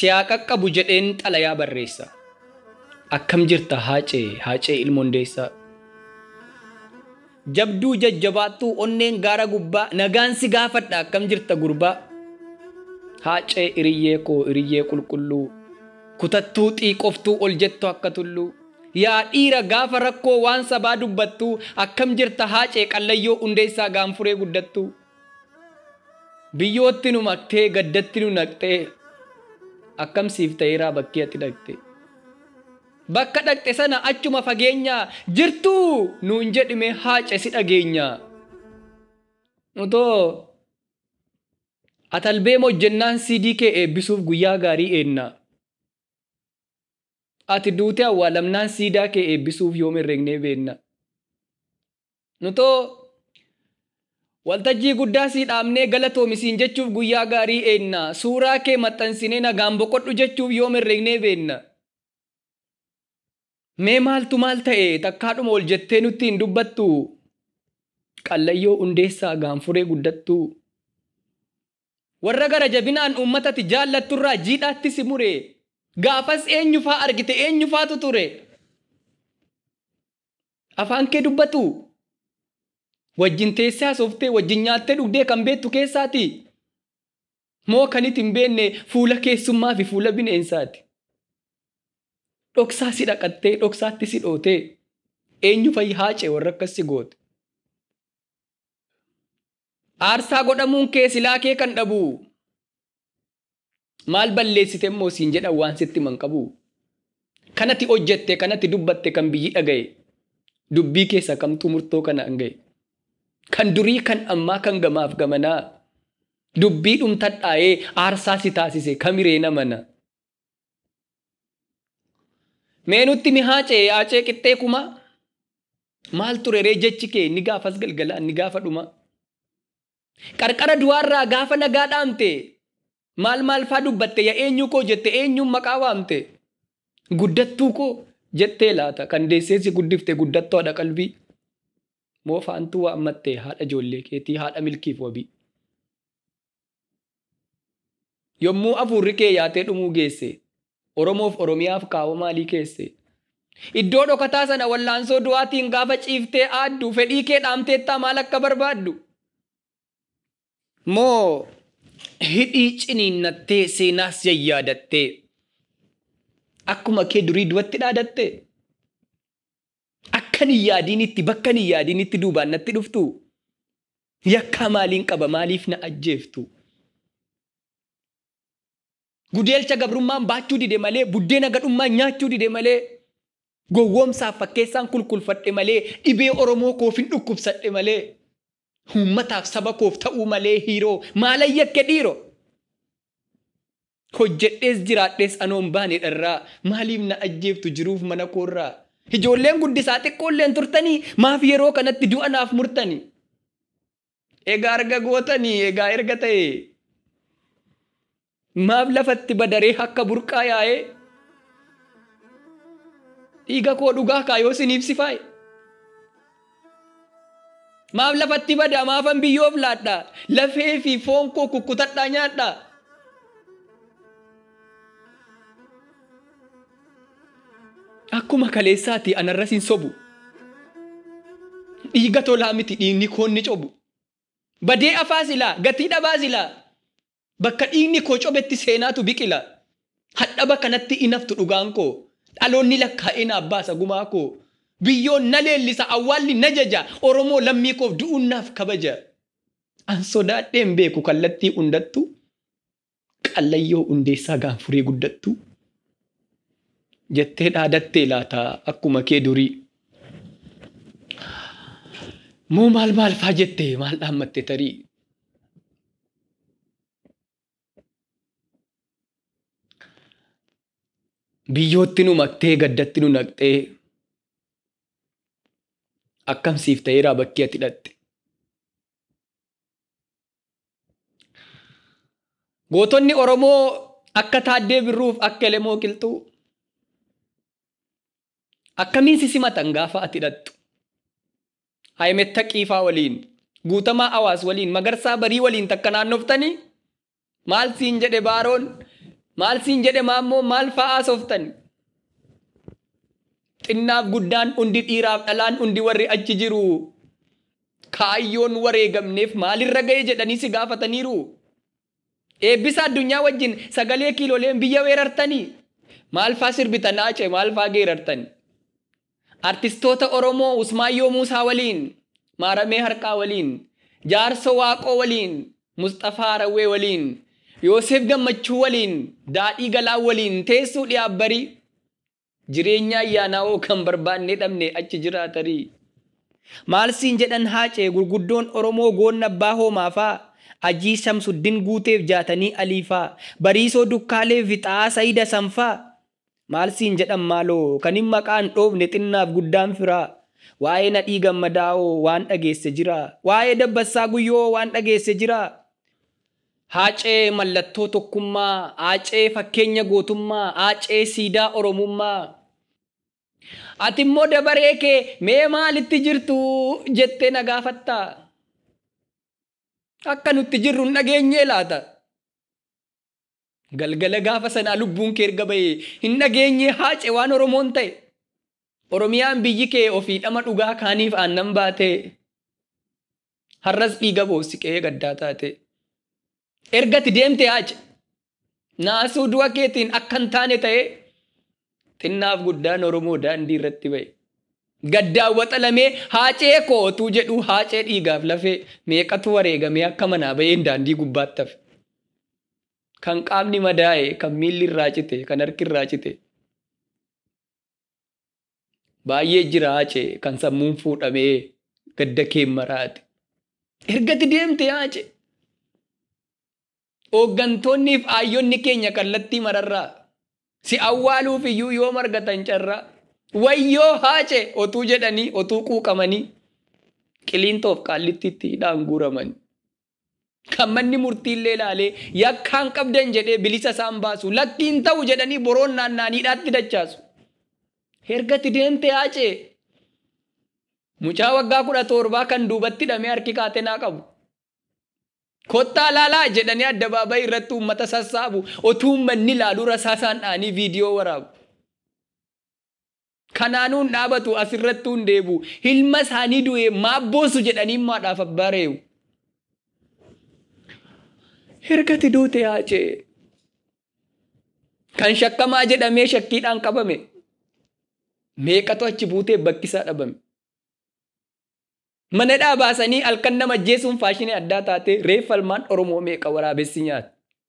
siyaa qaqqabu jedheen xalayaa barreessa. Akkam jirta haacee ilmoondeessa. Jabduu jajjabaattuu onneen gaara gubbaa nagaan si gaafadha akkam jirta gurbaa. Haacee iriyyee qulqulluu kutattuu xiiqoftuu ol jettu akka tulluu. Yaa dhiira gaafa rakkoo waan sabaa dubbattuu akkam jirta haacee qallayyoo hundeessaa gaanfuree guddattuu. Biyyootti nu maktee gaddatti nu naqxee akkam siif ta'eeraa bakkee ati dhaqxe. Bakka dhaqxe sana achuma fageenyaa jirtuu nuun jedhime haace si dhageenya. Utoo atalbee hojjennaan CD kee eebbisuuf guyyaa gaarii eenna. Ati duutee awwaalamnaan siidaa kee eebbisuuf yoom herregnee beenna. Nutoo waltajjii guddaa sii dhaabnee galatoomisiin jechuuf guyyaa gaarii eenna. Suuraa kee maxxansinee nagaan boqodhu jechuuf yoom herregnee beenna. Mee maaltu maal ta'e takkaadhuma ol jettee nutti hin dubbattu. Qallayyoo hundeessaa gaanfuree guddattu. Warra gara jabinaan uummatatti jaallatturraa jiidhaatti si mure. Gaafas eenyufaa argite eenyufaatu ture. Afaan kee dubbatu. Wajjin teessee haasoftee wajjin nyaattee dhugdee kan beektu keessaati. Moo kan itti hin beekne fuula keessummaa fi fuula bineensaati. Dhoksaa si dhaqattee dhoksaatti si dhootee eenyufayi haacee warra akkas si goote. Aarsaa godhamuun kee silaa kee kan dhabu. Maal balleessite immoo siin jedhan waan sitti man qabu. Kanatti hojjette kanatti dubbatte kan biyyi dhagaye. Dubbii keessa kamtuu murtoo kana hangaye. Kan durii kan ammaa kan gamaaf gamanaa. Dubbii dhumtadhaa'ee aarsaa si taasise kamiree namana. Mee nutti mi haacee qixxee kuma. Maal tureree jechi kee ni gaafas galgalaan ni gaafa dhuma. Qarqara du'aarraa gaafa nagaa dhaamte. Maal faa dubbatte yaa eenyu koo jette eenyuun maqaa waamte. Guddattuu koo jettee laata kan deesseesi guddifte guddattoo haadha qalbii. Moo faantuu waammatte haadha ijoollee keetii haadha milkiif wabii. Yommuu afuurri kee yaatee dhumuu geesse. Oromoof Oromiyaaf kaawwa maalii keesse. Iddoo dhokataa sana wallaansoo du'aatiin gaafa ciiftee aaddu fedhii kee dhaamteettaa maal akka barbaaddu. Moo hidhii ciniinnattee seenaas yayyaadattee akkuma kee durii duwatti dhaadatte. Akkan hin yaadinitti bakkan hin yaadinitti duubaan natti dhuftu. Yakkaa maaliin qaba maaliif na ajjeeftu. Gudeelcha gabrummaan baachuu dide malee buddeena gadhummaan nyaachuu dide malee gowwoomsaaf fakkeessaan kulkulfadhe malee dhibee Oromoo koof hin dhukkubsadhe malee uummataaf saba koof ta'uu malee hiiroo maalan yakke dhiiroo. Hojjedhees jiraadhees anoon baane dharraa maaliif na ajjeeftu jiruuf mana koorraa. Ijoolleen guddisaa xiqqoolleen turtanii maaf yeroo kanatti du'a naaf murtanii. Egaa arga gootanii egaa erga ta'e. Maaf lafatti badaree akka burqaa yaa'ee. Dhiiga koo dhugaa kaayoo siniif si faaye. Maaf lafatti bada maafan biyyoof laadhaa. Lafee fi foon koo kukkutadhaa nyaadhaa. Akkuma kaleessaati anarras hin sobu. Dhiiga tolaa miti dhiigni koon ni cobu. Badee afaa silaa gatii dhabaa silaa. Bakka dhiigni koo cobetti seenaatu biqila. Hadhaba kanatti inaftu dhugaan koo. Dhaloonni lakkaa'ee naaf baasa gumaa koo. Biyyoon na leellisa awwaalli na jaja. Oromoo lammii koof du'uun naaf kabaja. An sodaadheen beeku kallattii hundattu. Qallayyoo hundeessaa gaanfuree guddattu. Jettee dhaadattee laata akkuma kee durii. Moo maal faa jettee maal dhaammatte tarii. Biyyootti nu maktee gaddatti nu naqxee. Akkamsiif ta'eeraa bakkee ati hidhatte. Gootonni Oromoo akka Taaddee Birruuf akka Elemoo Qilxuu. Akkamiin si simatan gaafa ati hidhattu. Haayimetta Qiifaa waliin, Guutamaa Awaas waliin, Magarsaa Barii waliin takka naannoftanii maal siin jedhe Baaroon Maal siin jedhe maammoo maal fa'aa sooftan? Xinnaaf guddaan hundi dhiiraaf dhalaan hundi warri achi jiru kaayyoon wareegamneef maalirra ga'e jedhanii si gaafataniiru. Eebbisa addunyaa wajjin sagalee kiilooleen biyya weerartanii maal fa'aa sirbitan Aacee maal fa'aa geerartanii? Artistoota Oromoo Usmaayyoo Muusaa waliin, Maaramee Harqaa waliin, Jaarso Waaqoo waliin, Mustafaa Rawwee waliin, Yoosef Gammachuu waliin, Daadhii Galaa waliin teessuu dhiyaabbarii jireenya ayyaanaawoo kan barbaanne dhabne achi jiraatarii. Maal siin jedhan Haacee gurguddoon Oromoo goonna abbaa hoomaafaa Ajii Shamsuddin guuteef jaatanii aliifaa Bariisoo Dukkaalee Fixaa Sayida Sanfaa. Maal siin jedhan maaloo kan hin maqaan dhoofne xinnaaf guddaan firaa. Waa'ee Nadhii Gammadaa'oo waan dhageesse jira. Waa'ee Dabbassaa Guyyoo waan dhageesse jira. Haacee mallattoo tokkummaa, Haacee fakkeenya gootummaa, Haacee siidaa Oromummaa. Ati immoo dabaree kee mee maalitti jirtu jettee na gaafatta? Akka nutti jirru hin dhageenye laata? Galgala gaafa sanaa lubbuun kee erga bahee hin dhageenye Haacee waan Oromoon ta'e. Oromiyaan biyyi kee ofii dhama dhugaa kaaniif aannan baate. Har'as dhiiga boosiqee gaddaa taate. Ergati deemte Haacee naasuu du'a keetiin akka hin taane ta'e xinnaaf guddaan Oromoo daandii irratti ba'e. Gaddaawwaxa lamee Haacee kootuu jedhu Haacee dhiigaaf lafee meeqatu wareegamee akka manaa ba'een daandii gubbaatti hafe. Kan qaamni madaa'e, kan miilli irraa cite, kan harki irraa cite. Baay'ee jira Haacee kan sammuun fuudhamee gadda kee maraate. Ergati deemte Haacee. Hooggantoonniif aayyonni keenya kallattii mararraa si awwaaluuf iyyuu yoo margatan carraa. Wayyoo Haacee otuu jedhanii otuu quuqamanii Qiliintoof Qaallittiitti hidhaan guuramanii. Kan manni murtiillee ilaalee yakkaan qabdan jedhee bilisa isaan baasu lakkiin ta'u jedhanii boroon naannaaniidhaatti dachaasu. Ergati deemte Haacee. Mucaa waggaa 17 kan duubatti hidhamee harki kaatenaa qabu. Kottaa laalaa jedhanii addabaabayii irratti uummata sassaabu otuu uummanni ilaaluu rasaasaan dhaanii viidiyoo waraabu. Kanaanuun dhaabatu asirratti hundeebu ilma isaanii du'ee maabboosu jedhanii maadhaaf abbaa reewu. Ergati duute Haacee. Kan shakkamaa jedhamee shakkiidhaan qabame. Meeqatu achi buutee bakkisaa dhabame. Mana dhaabaasanii halkan nama ajjeesuun faashinii addaa taate reeffa ilmaan Oromoo meeqa waraabessi nyaata.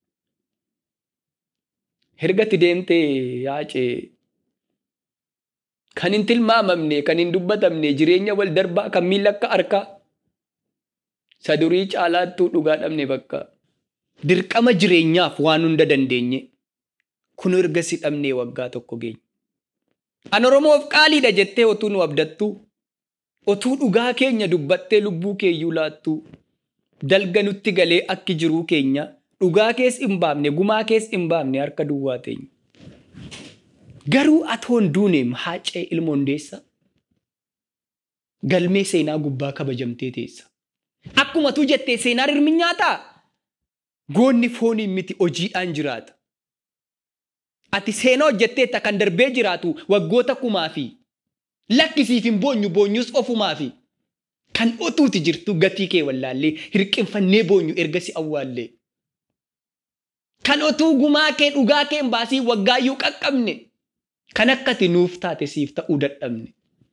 Ergati deemtee Haacee. Kan hin tilmaamamne, kan hin dubbatamne, jireenya wal darbaa kan miila akka harkaa. Sadurii caalaattuu dhugaa dhabne bakka. Dirqama jireenyaaf waan hunda dandeenye. Kun erga si dhabnee waggaa tokko geenye. An Oromoof qaaliidha jettee otuu nu abdattu. Otuu dhugaa keenya dubbattee lubbuu keeyyuu laattu. Dalga nutti galee akki jiruu keenya. Dhugaa kees hin baafne, gumaa kees hin baafne harka duwwaa teenya. Garuu atoon duuneem Haacee ilma Hundeessaa. Galmee seenaa gubbaa kabajamtee teessa. Akkuma tu jettee seenaan hirmi nyaataa. Goonni fooniin miti hojiidhaan jiraata. Ati seenaa hojjetteetta kan darbee jiraatu waggoota 1000. Lakkisiif hin boonyu boonyus ofumaafi. Kan otuuti jirtu gatii kee wallaallee hirqinfannee boonyu ergasi awwaallee. Kan otuu gumaa kee dhugaa kee hin baasii waggaayyuu qaqqabne. Kan akkati nuuf taate siif ta'uu dadhabne.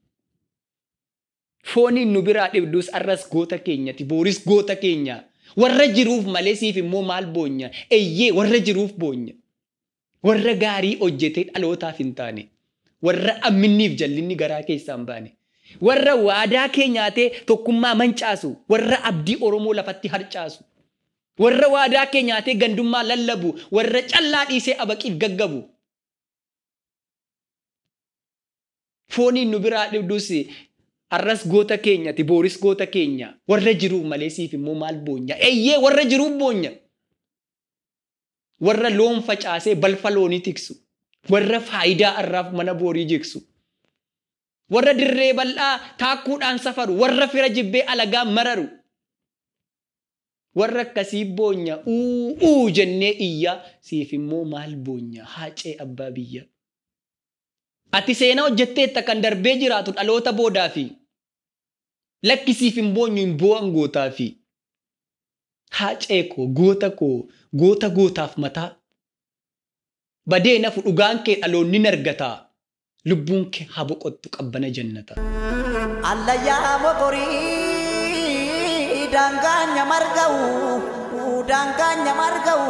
Fooniin nu biraa dhibdus arras goota keenyati booris goota keenya. Warra jiruuf malee siif immoo maal boonya? Eeyyee warra jiruuf boonya. Warra gaarii hojjetee dhalootaaf hin taane. Warra amminniif jallinni garaa keessaa hin baane. Warra waadaa kee nyaatee tokkummaa mancaasu. Warra abdii Oromoo lafatti harcaasu. Warra waadaa kee nyaatee gandummaa lallabu. Warra callaa dhiisee abaqiif gaggabu. Fooniin nu biraa dhibdus arras goota keenyati booris goota keenya. Warra jiruuf malee siif immoo maal boonya? Eeyyee warra jiruuf boonya. Warra loon facaasee balfa loonii tiksu. Warra faayidaa arraaf mana boorii jigsu. Warra dirree bal'aa taakkuudhaan safaru. Warra fira jibbee alagaa mararu. warra akkasii boonya uu jennee iyya siif immoo maal boonya haacee abbaa biyya. Ati seenaa hojjetteetta kan darbee jiraatu dhaloota boodaa fi lakkisiif hin boonyu hin boo'an gootaa fi haacee koo goota gootaaf mataa badee nafu dhugaan kee dhaloonni nargataa lubbuun kee haa boqottu qabbana jannata. Allayyaa mokorii daangaanya marga'u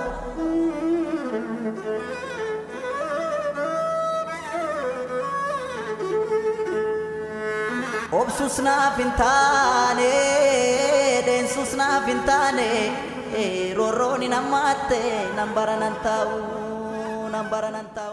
obsus naaf hin taane deensus naaf hin taane roorroon hin hammaate nan baranan taa'u.